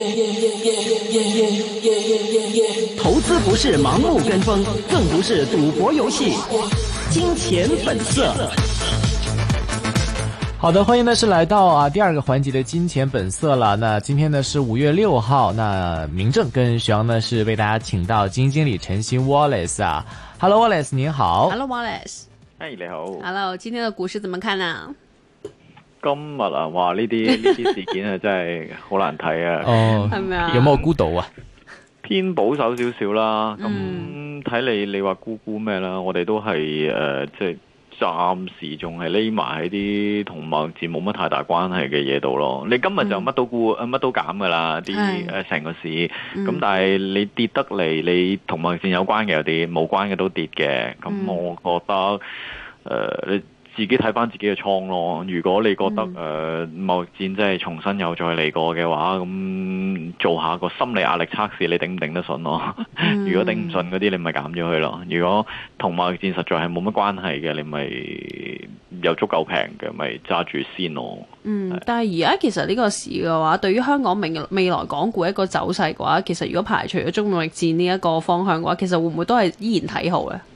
投資不是盲目跟風，更不是賭博遊戲。金錢本色。 好的，歡迎呢是來到第二個環節的金錢本色了。那今天呢是5月6號，那明正跟徐陽呢是為大家請到基金經理陳昕 Wallace 啊。Hello Wallace，您好。 Hello Wallace。 hey, 你好。 Hello， 今天的股市怎麼看呢？ 今日啊，哇！呢啲事件啊，真係好難睇啊。 哦，係咪啊？有冇估到啊？ 偏保守少少啦。咁睇你話估咩啦？我哋都係即係暫時仲係匿埋喺啲同貿易戰冇乜太大關係嘅嘢度咯。你今日就乜都估乜都減噶啦，啲成個市。咁但係你跌得嚟，你同貿易戰有關嘅有啲，冇關嘅都跌嘅。咁我覺得你自己睇翻自己嘅倉咯。如果你覺得貿易戰真係重新又再嚟過嘅話，咁做下個心理壓力測試，你頂唔頂得順咯？如果頂唔順嗰啲，你咪減咗佢咯。如果同貿易戰實在係冇乜關係嘅，你咪有足夠平嘅，咪揸住先咯。 但係而家其實呢個市嘅話，對於香港未來港股一個走勢嘅話，其實如果排除咗中貿易戰呢一個方向嘅話，其實會唔會都係依然睇好咧？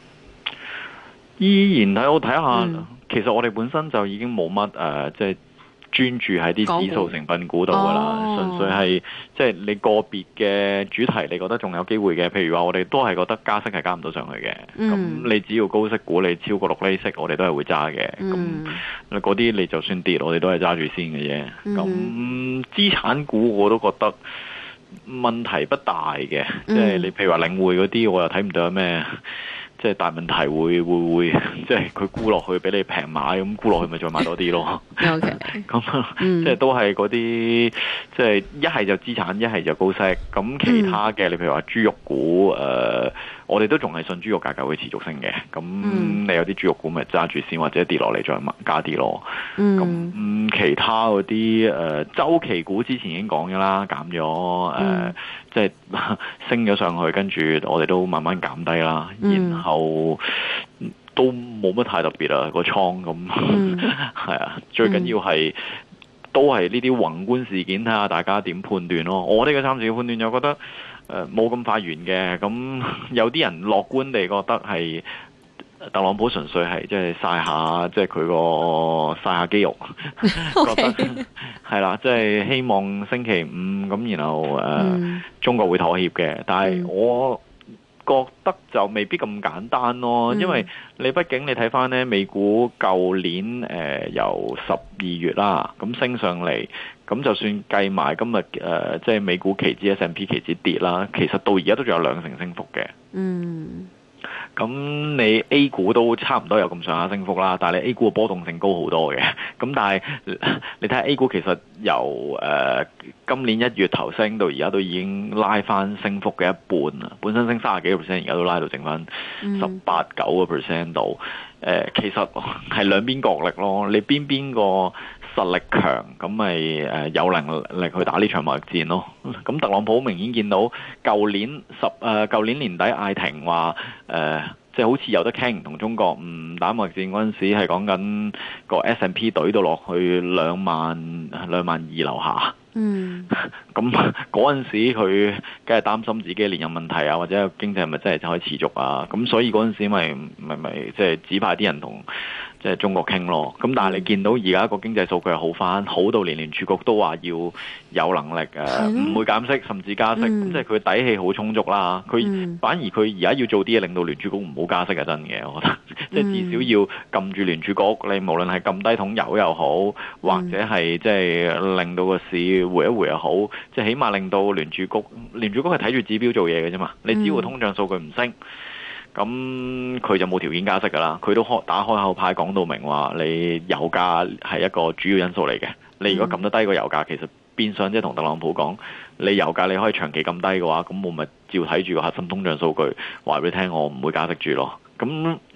依然睇，我睇下，其實我哋本身就已經冇乜即係專注喺啲指數成分股度噶啦，純粹係即係你個別嘅主題，你覺得仲有機會嘅，譬如話我哋都係覺得加息係加唔到上去嘅，咁你只要高息股你超過6厘息，我哋都係會揸嘅，咁嗰啲你就算跌，我哋都係揸住先嘅啫。咁資產股我都覺得問題不大嘅，即係你譬如話領匯嗰啲，我又睇唔到有咩即係大問題會即係佢沽落去俾你平買，咁沽落去咪再買多啲咯。 OK， 咁即係都係嗰啲，即係一係就資產，一係就高息。咁其他嘅，你譬如話豬肉股，我哋都仲係信豬肉價格會持續升嘅。咁你有啲豬肉股咪揸住先，或者跌落嚟再加啲咯。咁其他嗰啲週期股之前已經講咗啦，減咗即係升咗上去，跟住我哋都慢慢減低啦，然後都冇乜太特別啦個倉咁，係啊，最緊要係都係呢啲宏觀事件，睇下大家點判斷咯。我哋嘅暫時嘅判斷就覺得冇咁快完嘅，咁有啲人樂觀地覺得係特朗普純粹係即係曬下，即係佢個曬下肌肉，覺得係啦，即係希望星期五咁，然後中國會妥協嘅。但係我覺得就未必咁簡單咯，因為你畢竟你睇翻呢美股舊年由12月啦，咁升上嚟，咁就算計埋今日即係美股期指 S&P 期指跌啦，其實到而家都仲有2成升幅嘅。咁你 A 股都差唔多有咁上下升幅啦，但係你 A 股嘅波動性高好多嘅。咁但係你睇下 A 股其實由今年1月頭升到而家都已經拉翻升幅嘅一半啦。本身升30幾個 percent，而家都拉到剩翻18-9個 percent 度。其實係兩邊角力咯。你邊個實力強，咁咪有能力去打呢場貿易戰咯。咁特朗普明顯見到舊年年底嗌停話即係好似有得傾同中國唔打貿易戰嗰陣時，係講緊個 S&P 懟到落去22000樓下。咁嗰陣時佢梗係擔心自己連任問題啊，或者經濟係咪真係可以持續啊？咁所以嗰陣時咪即係指派啲人同即係中國傾咯。咁但係你見到而家個經濟數據係好翻，好到連聯儲局都話要有能力唔會減息甚至加息，即係佢底氣好充足啦。反而佢而家要做啲嘢令到聯儲局唔好加息係真嘅，我覺得即係至少要撳住聯儲局，你無論係撳低桶油又好，或者係即係令到個市回一回又好，即係起碼令到聯儲局係睇住指標做嘢嘅啫嘛。你只要通脹數據唔升，咁佢就冇條件加息噶啦。佢都打開口牌講到明話，你油價係一個主要因素嚟嘅。你如果撳得低個油價，其實變相即係同特朗普講，你油價你可以長期撳低嘅話，咁我咪照睇住個核心通脹數據話俾你聽，我唔會加息住咯。咁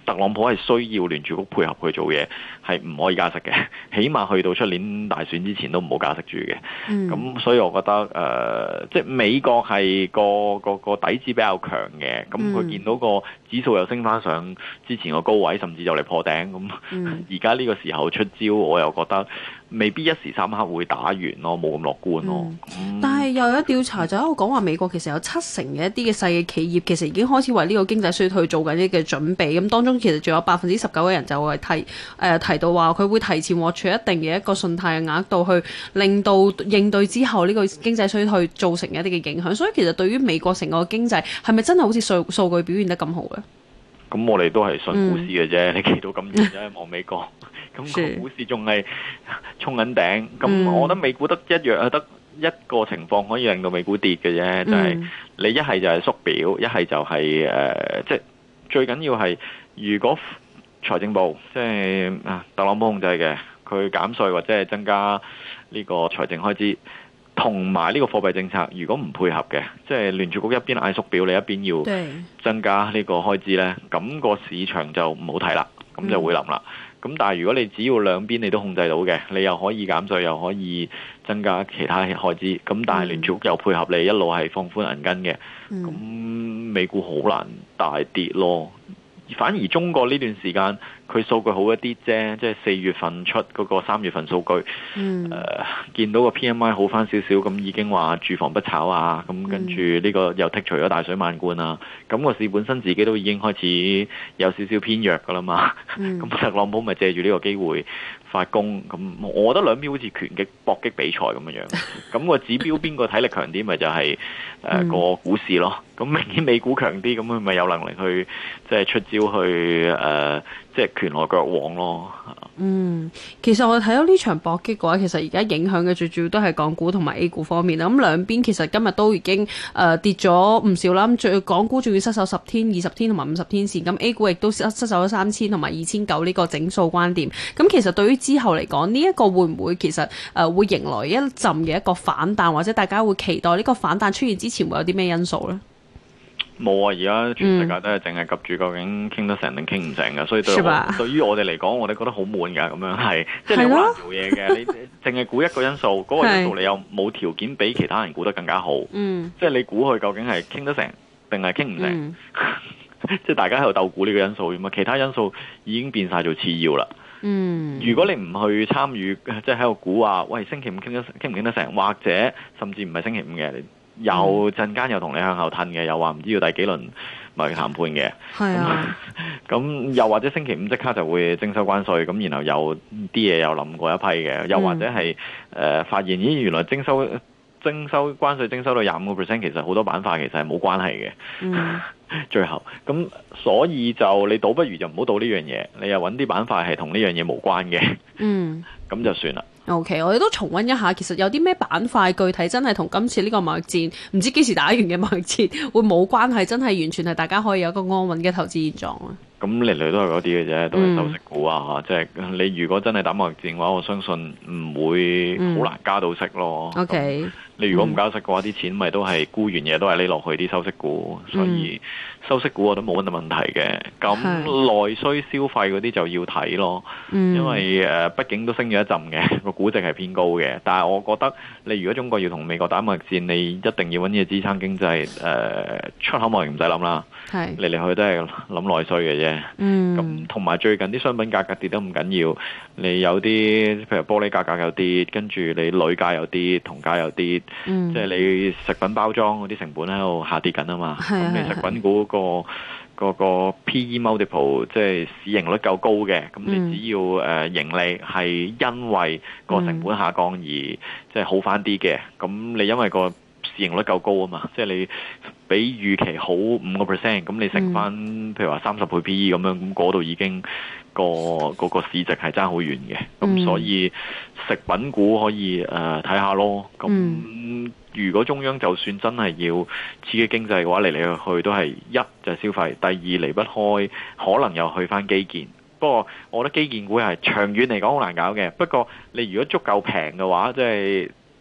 特朗普係需要聯儲局配合去做嘢，係唔可以加息嘅，起碼去到出年大選之前都唔好加息住嘅。咁所以我覺得即係美國係個底子比較強嘅，咁佢見到個指數又升翻上之前個高位，甚至就嚟破頂，咁而家呢個時候出招，我又覺得未必一時三刻會打完咯，冇咁樂觀咯。 但係又有調查就喺度講話，美國其實有70%嘅一啲嘅細嘅企業其實已經開始為呢個經濟衰退做緊啲嘅準備。咁當中其實仲有19%嘅人就會提到話佢會提前獲取一定嘅一個信貸嘅額度，去令到應對之後呢個經濟衰退造成一啲嘅影響。所以其實對於美國成個經濟係咪真係好似數據表現得咁好咧？咁我哋都係信股市嘅啫，你企到咁遠啫，望美國，咁個股市仲係衝緊頂。咁我覺得美股得一個情況可以令到美股跌嘅啫，就係你一係就係縮表，一係就係即係最緊要係如果財政部即係特朗普控制嘅，佢減稅或者係增加呢個財政開支，同埋呢個貨幣政策如果唔配合嘅，即係聯儲局一邊嗌縮表，你一邊要增加呢個開支呢，咁個市場就唔好睇啦，咁就會冧啦。咁但係如果你只要兩邊你都控制到嘅，你又可以減稅，又可以增加其他開支，咁但係聯儲局又配合你一路係放寬銀根嘅，咁美股好難大跌咯。反而中國呢段時間佢數據好一啲啫，即係4月份出嗰個3月份數據，見到個 PMI 好翻少少，咁已經話住房不炒啊，咁跟住呢個又剔除咗大水漫灌啊，咁個市本身自己都已經開始有少少偏弱噶啦嘛，咁特朗普咪借住呢個機會發功，咁我覺得兩邊好似拳擊搏擊比賽咁樣，咁個指標邊個體力強啲，咪就係個股市咯。咁明顯美股強啲，咁佢咪有能力去即係出招去即係拳來腳往咯。 其實我睇到呢場搏擊嘅話，其實而家影響嘅最主要都係港股同埋 A 股方面啦。咁兩邊其實今日都已經跌咗唔少啦。咁港股仲要失守10天、20天同埋50天線，咁 A 股亦都失守咗3000同埋2900呢個整數關點。咁其實對於之後嚟講，呢一個會唔會其實會迎來一陣嘅一個反彈，或者大家會期待呢個反彈出現之前會有啲咩因素呢？ 冇啊！而家全世界都係淨係及住究竟傾得成定傾唔成嘅，所以對於我哋嚟講，我哋覺得好悶㗎。咁樣係即係你好難做嘢嘅。你淨係估一個因素，嗰個因素你又冇條件比其他人估得更加好。即係你估佢究竟係傾得成定係傾唔成？即係大家喺度鬥估呢個因素，咁啊其他因素已經變晒做次要啦。如果你唔去參與，即係喺度估話，喂，星期五傾唔傾得成，或者甚至唔係星期五嘅，又陣間又同你向後褪嘅，又話唔知要第幾輪貿易談判嘅。咁又或者星期五即刻就會徵收關稅，咁然後又啲嘢又冧過一批嘅，又或者係發現咦原來徵收關稅徵收到25%，其實好多板塊其實係冇關係嘅。最後咁，所以就你倒不如就唔好賭呢樣嘢，你又揾啲板塊係同呢樣嘢無關嘅。咁就算啦。 OK， 我哋都重溫一下，其實有啲咩板塊具體真係同今次呢個貿易戰，唔知幾時打完嘅貿易戰會冇關係，真係完全係大家可以有一個安穩嘅投資現狀啊！咁嚟嚟都係嗰啲嘅啫，都係收息股啊！即係你如果真係打貿易戰嘅話，我相信唔會好難加到息咯。 OK， 你如果唔加息嘅話，啲錢咪都係沽完嘢都係匿落去啲收息股，所以收息股我都冇乜問題嘅。咁內需消費嗰啲就要睇咯，因為畢竟都升咗一陣嘅，個估值係偏高嘅。但係我覺得你如果中國要同美國打貿易戰，你一定要揾嘢支撐經濟。出口貿易唔使諗啦，嚟嚟去都係諗內需嘅啫。咁同埋最近啲商品價格跌得唔緊要，你有啲譬如玻璃價格有跌，跟住你鋁價有跌，銅價有跌，即係你食品包裝嗰啲成本喺度下跌緊啊嘛。咁你食品股個 PE multiple 即係市盈率夠高嘅，咁你只要盈利係因為個成本下降而即係好翻啲嘅，咁你因為個市盈率夠高啊嘛，即係你比預期好5%，咁你乘翻譬如話30倍 PE 咁樣，咁嗰度已經個市值係爭好遠嘅，咁所以食品股可以睇下咯。咁如果中央就算真係要刺激經濟嘅話，嚟嚟去去都係一就係消費，第二離不開可能又去翻基建。不過我覺得基建股係長遠嚟講好難搞嘅。不過你如果足夠平嘅話，即係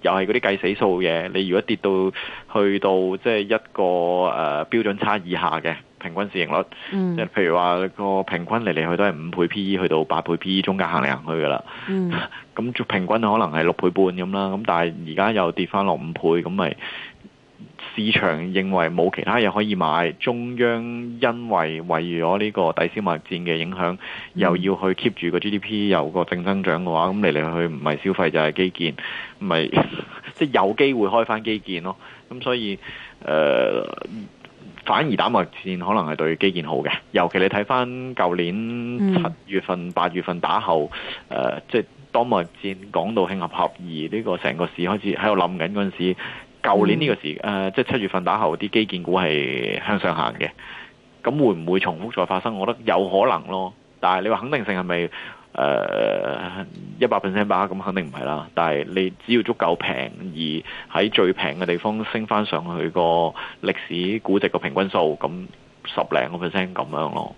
又係嗰啲計死數嘢。你如果跌到去到即係一個標準差以下嘅平均市盈率，即係譬如話個平均嚟嚟去都係5倍 PE 去到8倍 PE 中間行嚟行去噶啦。咁平均可能係6倍半咁啦。咁但係而家又跌翻落5倍，咁咪市場認為冇其他嘢可以買，中央因為咗呢個抵消貿易戰嘅影響，又要去 keep 住個 GDP 有個正增長嘅話，咁嚟嚟去唔係消費就係基建，唔係即係有機會開翻基建咯。咁所以反而打貿易戰可能係對基建好嘅，尤其你睇翻舊年7月份、8月份打後，即係當貿易戰講到興合合，而呢個成個市開始喺度冧緊嗰陣時。舊年呢個時即係7月份打後啲基建股係向上行嘅，咁會唔會重複再發生？我覺得有可能咯，但係你話肯定性係咪100% 把握？咁肯定唔係啦。但係你只要足夠平，而喺最平嘅地方升翻上去個歷史估值個平均數，咁10零個 percent 咁樣咯。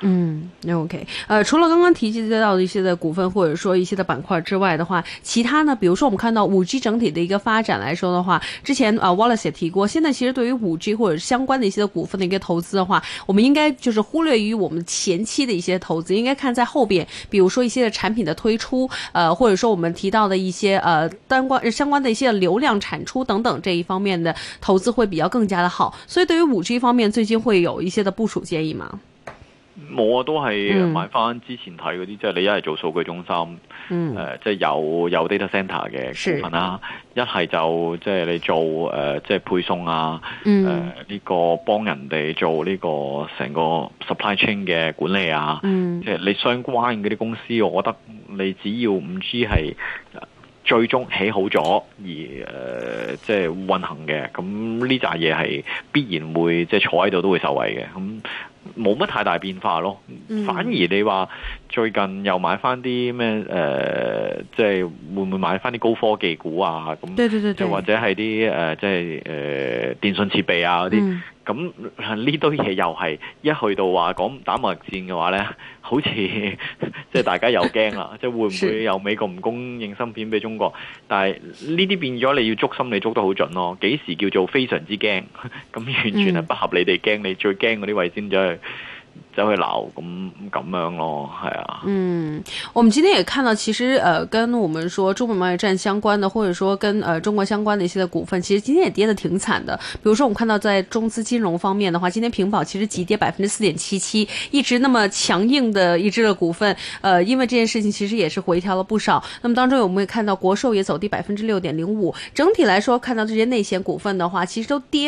OK，除了剛剛提及到的一些的股份或者說一些的板塊之外的話，其他呢，比如說我們看到 5G 整體的一個發展來說的話，之前Wallace 也提過，現在其實對於 5G 或者相關的一些的股份的一個投資的話，我們應該就是忽略於我們前期的一些投資，應該看在後邊，比如說一些的產品的推出，或者說我們提到的一些相關的一些流量產出等等這一方面的投資會比較更加的好。所以對於 5G 方面，最近會有一些的部署建議嗎？ 冇啊，都係買翻之前睇嗰啲，即係你一係做數據中心，即係有 data center 嘅股份啦，一係就即係你做即係配送啊，呢個幫人哋做呢個成個 supply chain 嘅管理啊，即係你相關嗰啲公司，我覺得你只要 5G 係最終起好咗而即係運行嘅，咁呢扎嘢係必然會即係坐喺度都會受惠嘅，咁冇乜太大變化咯。反而你話最近又買翻啲咩即係會唔會買翻啲高科技股啊？咁就或者係啲即係電信設備啊嗰啲。咁呢堆嘢又係一去到話講打貿易戰嘅話呢，好似即係大家又驚啦，即係會唔會有美國唔供應芯片俾中國？但係呢啲變咗你要捉心理捉得好準咯。幾時叫做非常之驚？咁完全係不合理地驚，你最驚嗰啲位先走去鬧咁樣咯，係啊。 我們今天也看到，其實跟我們說中美貿易戰相關的，或者說跟中國相關的一些的股份，其實今天也跌得挺慘的。比如說我們看到在中資金融方面的話，今天平保其實急跌4.77%，一直那麼強硬的一支的股份，因為這件事情其實也是回調了不少。那麼當中我們也看到國壽也走低6.05%，整體來說看到這些內險股份的話，其實都跌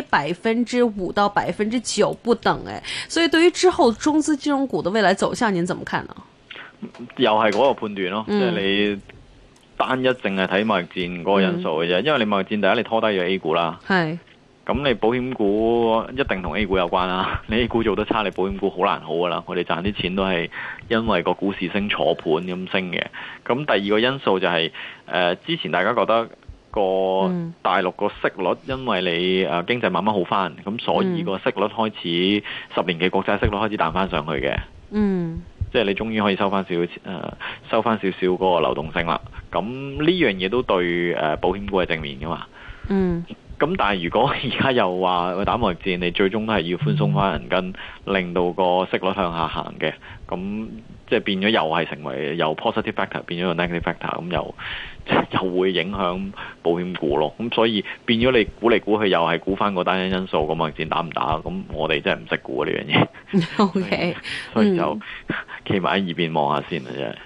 5%到9%不等，所以對於之後中資金融股的未來走向，您怎麼看呢？ 又係嗰個判斷咯，即係你單一淨係睇貿易戰嗰個因素嘅啫。因為你貿易戰第一你拖低咗 A 股啦，係咁你保險股一定同 A 股有關啦。你 A 股做得差，你保險股好難好噶啦。我哋賺啲錢都係因為個股市升坐盤咁升嘅。咁第二個因素就係之前大家覺得個大陸個息率，因為你經濟慢慢好翻，咁所以個息率開始10年期國債息率開始彈翻上去嘅。即係你終於可以收翻少少嗰個流動性啦。咁呢樣嘢都對保險股係正面噶嘛。咁但係如果而家又話打貿易戰，你最終都係要寬鬆翻銀根，令到個息率向下行嘅。咁即係變咗又係成為由 positive factor 變咗個 negative factor，咁又會影響保險股咯。咁所以變咗你估嚟估去又係估翻個單一因素，咁貿易戰打唔打？咁我哋真係唔識估呢樣嘢。 OK， 所以就企埋喺一邊望下先啦，真係。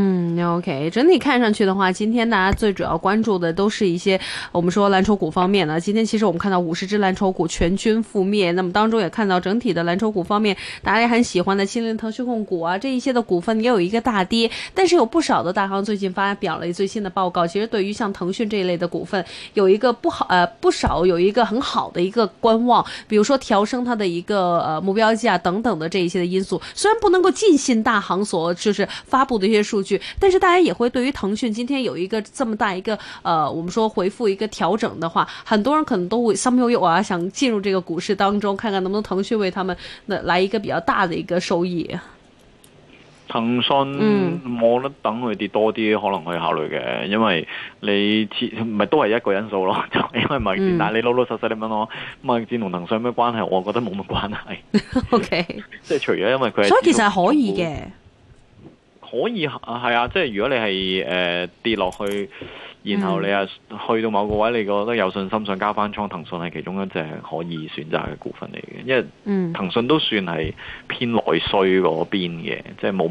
OK， 整體看上去的話，今天大家最主要關注的都是一些我們說藍籌股方面呢。今天其實我們看到50隻藍籌股全軍覆滅，那麼當中也看到整體的藍籌股方面，大家也很喜歡的新騰訊控股啊，這一些的股份也有一個大跌，但是有不少的大行最近發表了最新的報告，其實對於像騰訊這一類的股份，有一個不少有一個很好的一個觀望，比如說調升它的一個目標價等等的這一些的因素，雖然不能夠盡信大行所就是發布的一些數據，但是大家也會對於騰訊今天有一個這麼大一個我們說回復一個調整的話，很多人可能都會心悠悠啊，想進入這個股市當中，看看能不能騰訊為他們來一個比較大的一個收益。 騰訊，我覺得等佢跌多啲，可能可以考慮嘅，因為你咪都係一個因素咯，就因為貿易戰。但係你老老實實你問我貿易戰同騰訊有咩關係，我覺得冇乜關係。 OK， 即係除咗因為佢， 所以其實係可以嘅， 可以係啊，即係如果你係跌落去。然後你去到某個位，你覺得有信心想加翻倉，騰訊係其中一隻可以選擇嘅股份嚟嘅，因為騰訊都算係偏內需嗰邊嘅，即係冇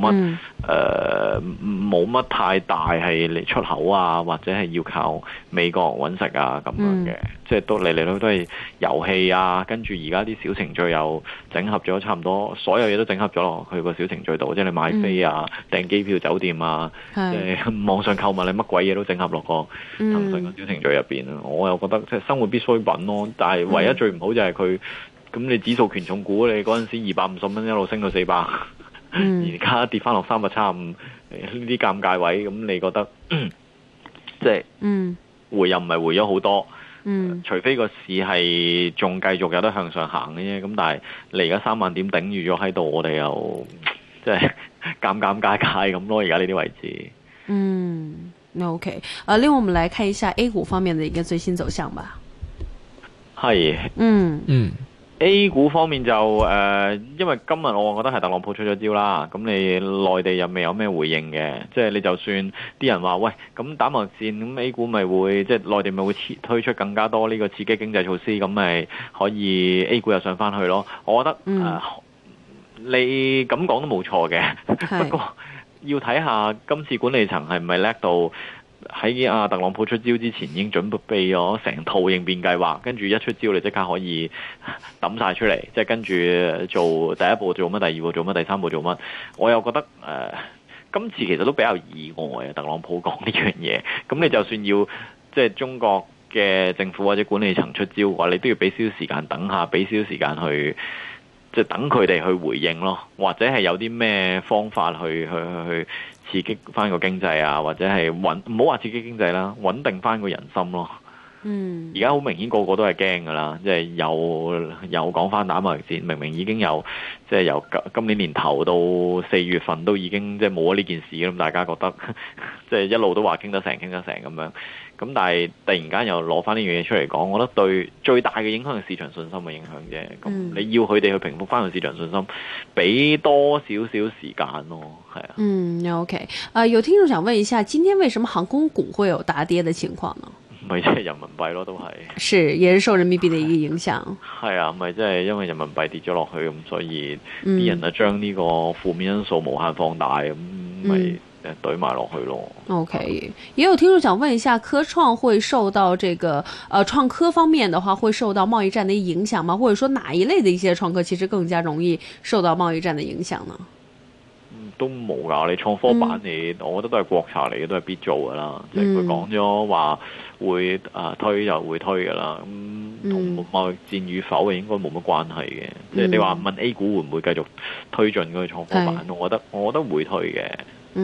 乜太大係嚟出口啊，或者係要靠美國揾食啊咁樣嘅，即係都嚟嚟都係遊戲啊，跟住而家啲小程序又整合咗，差唔多所有嘢都整合咗落去個小程序度，即係你買飛啊、訂機票、酒店啊，即係網上購物，你乜鬼嘢都整合落個騰訊個小程序入邊，我又覺得即係生活必需品咯。但係唯一最唔好就係佢，咁你指數權重股，你嗰陣時250蚊一路升到400，而家跌翻落375，呢啲尷尬位，咁你覺得即係回又唔係回咗好多，除非個市係仲繼續有得向上行嘅啫。咁但係你而家3萬點頂住咗喺度，我哋又即係尷尬咁咯。而家呢啲位置。 OK，另外我們來看一下 A 股方面的一個最新走向吧。 係，A 股方面就因為今日我覺得係特朗普出咗招啦，咁你內地又未有咩回應嘅，即係你就算啲人話喂，咁打貿易戰，咁 A 股咪會即係內地咪會推出更加多呢個刺激經濟措施，咁咪可以 A 股又上翻去咯。我覺得你咁講都冇錯嘅，不過要睇下今次管理層係咪叻到喺特朗普出招之前已經準備咗成套應變計劃，跟住一出招你即刻可以抌晒出嚟，即係跟住做第一步做乜，第二步做乜，第三步做乜。我又覺得今次其實都比較意外啊，特朗普講呢樣嘢。咁你就算要即係中國嘅政府或者管理層出招嘅話，你都要俾少少時間等下，俾少少時間去。即係等佢哋去回應咯，或者係有啲咩方法去刺激翻個經濟啊，或者係唔好話刺激經濟啦，穩定翻個人心咯。而家好明顯個個都係驚噶啦，即係又講翻打貿易戰，明明已經有即係由今年年頭到4月份都已經即係冇咗呢件事，咁大家覺得即係一路都話傾得成咁樣。咁但係突然間又攞翻呢樣嘢出嚟講，我覺得對最大嘅影響係市場信心嘅影響啫。咁你要佢哋去平復翻個市場信心，俾多少少時間咯，係啊。 OK，有聽眾想問一下，今天為什麼航空股會有大跌嘅情況呢？ 咪即係人民幣咯，都係。 是，也是受人民幣嘅一個影響。 係啊，咪即係因為人民幣跌咗落去，咁所以啲人就將呢個負面因素無限放大，咁咪懟埋落去咯。 OK，也有聽眾想問一下，科創會受到這個創科方面的話，會受到貿易戰的影響嗎？或者說哪一類的一些創科其實更加容易受到貿易戰的影響呢？ 都冇㗎，你創科板我覺得都係國策嚟嘅，都係必做㗎啦。即係佢講咗話會推就會推㗎啦。咁同貿易戰與否應該冇乜關係嘅。即係你話問 A 股會唔會繼續推進嗰個創科板，我覺得會推嘅。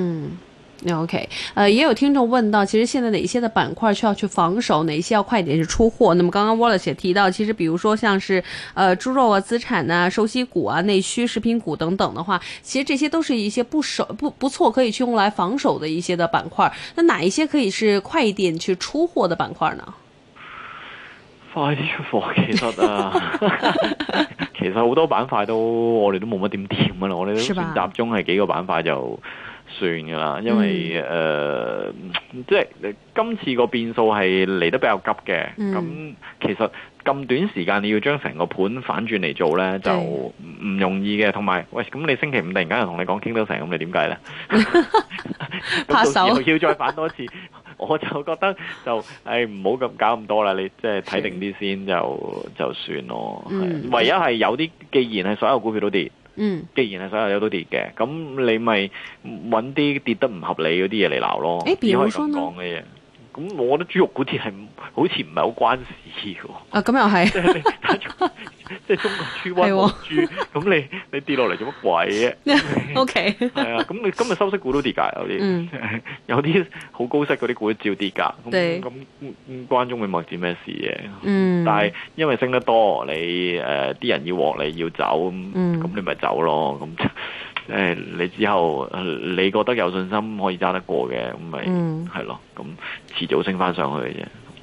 OK，也有聽眾問到，其實現在哪些的板塊需要去防守，哪些要快點去出貨？那麼剛剛 Wallace 也提到，其實比如說像是豬肉啊、資產啊、收息股啊、內需食品股等等的話，其實這些都是一些不錯可以去用來防守的一些的板塊。那哪一些可以是快一點去出貨的板塊呢？ 快啲出貨，其實好多板塊我哋都冇乜點掂噶啦，我哋都算集中係幾個板塊就算噶啦，因為即係今次個變數係嚟得比較急嘅，咁其實咁短時間你要將成個盤反轉嚟做呢，就唔容易嘅。同埋，喂，咁你星期五突然間又同你講傾得成，咁你點計呢？ 拍手又要再反多次，我就覺得就唔好咁搞咁多啦，你即係睇定啲先就算咯。唯一係有啲，既然係所有股票都跌。既然係所有嘢都跌嘅，咁你咪揾啲跌得唔合理嗰啲嘢嚟鬧咯。只可以咁講嘅嘢。咁我覺得豬肉股跌係好似唔係好關事喎。 咁又係。 即係中國豬瘟冇豬，咁你跌落嚟做乜鬼啫 ？OK。係啊，咁你今日收息股都跌㗎，有啲好高息嗰啲股都照跌㗎。咁關中美貿易戰咩事嘅？但係因為升得多，你啲人要獲利要走，咁你咪走咯。咁你之後你覺得有信心可以揸得過嘅，咁咪係咯，咁遲早升翻上去嘅啫。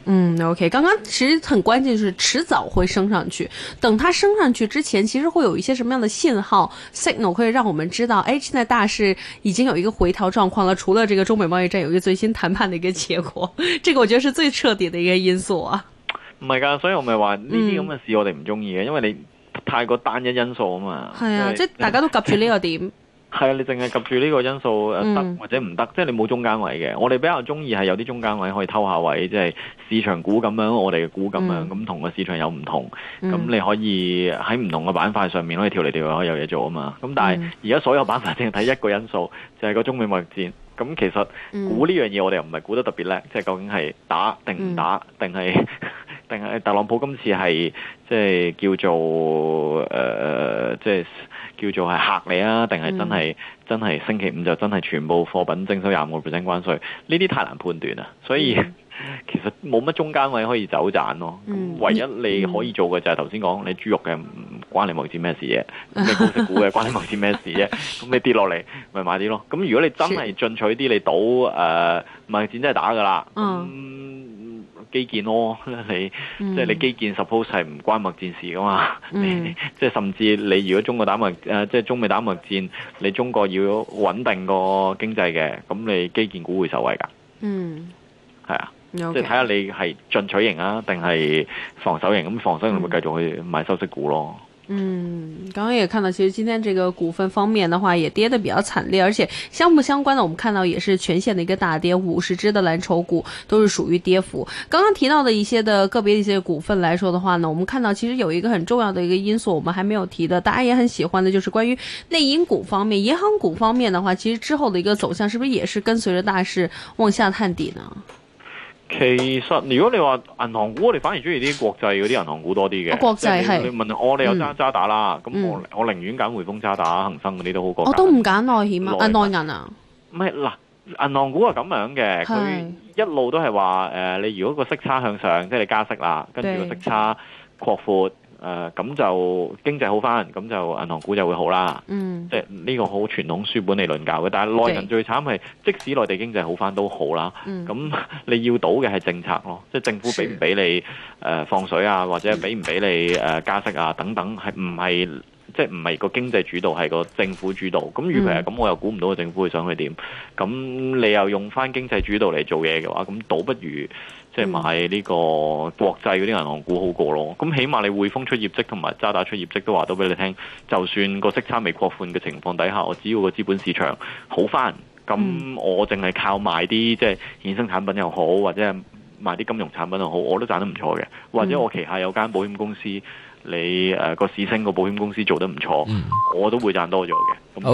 OK， 剛剛其實很關鍵，就是遲早會升上去。等它升上去之前，其實會有一些什麼樣的信號 signal 可以讓我們知道，現在大市已經有一個回調狀況了。除了這個中美貿易戰有一個最新談判的一個結果，這個我覺得是最徹底的一個因素啊。 唔係㗎，所以我咪話呢啲咁嘅事我哋唔中意嘅，因為你太過單一因素啊嘛。 係啊，即係大家都及住呢個點。係啊，你淨係及住呢個因素得或者唔得，即係你冇中間位嘅。我哋比較中意係有啲中間位可以偷下位，即係市場股咁樣，我哋嘅股咁樣，咁同個市場有唔同，咁你可以喺唔同嘅板塊上面可以跳嚟跳去，可以有嘢做啊嘛。咁但係而家所有板塊淨係睇一個因素，就係個中美貿易戰。咁其實估呢樣嘢我哋又唔係估得特別叻，即係究竟係打定唔打，定係特朗普今次係即係叫做即係叫做係嚇你啊，定係真係星期五就真係全部貨品徵收25%關稅？呢啲太難判斷啦，所以其實冇乜中間位可以走盞咯。唯一你可以做嘅就係頭先講，你豬肉嘅唔關你貿易戰咩事啫，你高息股嘅關你貿易戰咩事啫？咁你跌落嚟咪買啲咯。咁如果你真係進取啲，你賭貿易戰真係打㗎啦。基建咯，即係你基建 suppose 係唔關貿易戰事噶嘛？即係甚至你如果中國打即係中美打貿易戰，你中國要穩定個經濟嘅，咁你基建股會受惠噶。係啊，即係睇下你係進取型啊，定係防守型？咁防守型會繼續去買收息股咯。 剛剛也看到，其實今天這個股份方面的話，也跌得比較慘烈，而且相不相關的，我們看到也是全線的一個大跌，50隻的藍籌股都是屬於跌幅。剛剛提到的一些的個別的一些股份來說的話呢，我們看到其實有一個很重要的一個因素，我們還沒有提的，大家也很喜歡的，就是關於內銀股方面、銀行股方面的話，其實之後的一個走向，是不是也是跟隨着大市往下探底呢？ 其實如果你話銀行股，我哋反而中意啲國際嗰啲銀行股多啲嘅。 國際係你問我哋有渣打啦，咁我寧願揀匯豐、渣打、恒生嗰啲都好過。 我都唔揀內險啊，內銀啊。唔係嗱，銀行股係咁樣嘅，佢一路都係話你如果個息差向上，即係你加息啦，跟住個息差擴闊。咁就經濟好翻，咁就銀行股就會好啦。即係呢個好傳統書本理論教嘅。但係內銀最慘係，即使內地經濟好翻都好啦。咁你要賭嘅係政策咯，即係政府俾唔俾你放水啊，或者俾唔俾你加息啊等等，係唔係即係唔係個經濟主導，係個政府主導。咁如果係咁，我又估唔到個政府會想去點。咁你又用翻經濟主導嚟做嘢嘅話，咁倒不如即係買呢個國際嗰啲銀行股好過咯。咁起碼你匯豐出業績同埋渣打出業績都話到俾你聽，就算個息差未擴寬嘅情況底下，我只要個資本市場好翻，咁我淨係靠賣啲即係衍生產品又好，或者係賣啲金融產品又好，我都賺得唔錯嘅。或者我旗下有間保險公司，你個市升個保險公司做得唔錯，我都會賺多咗嘅。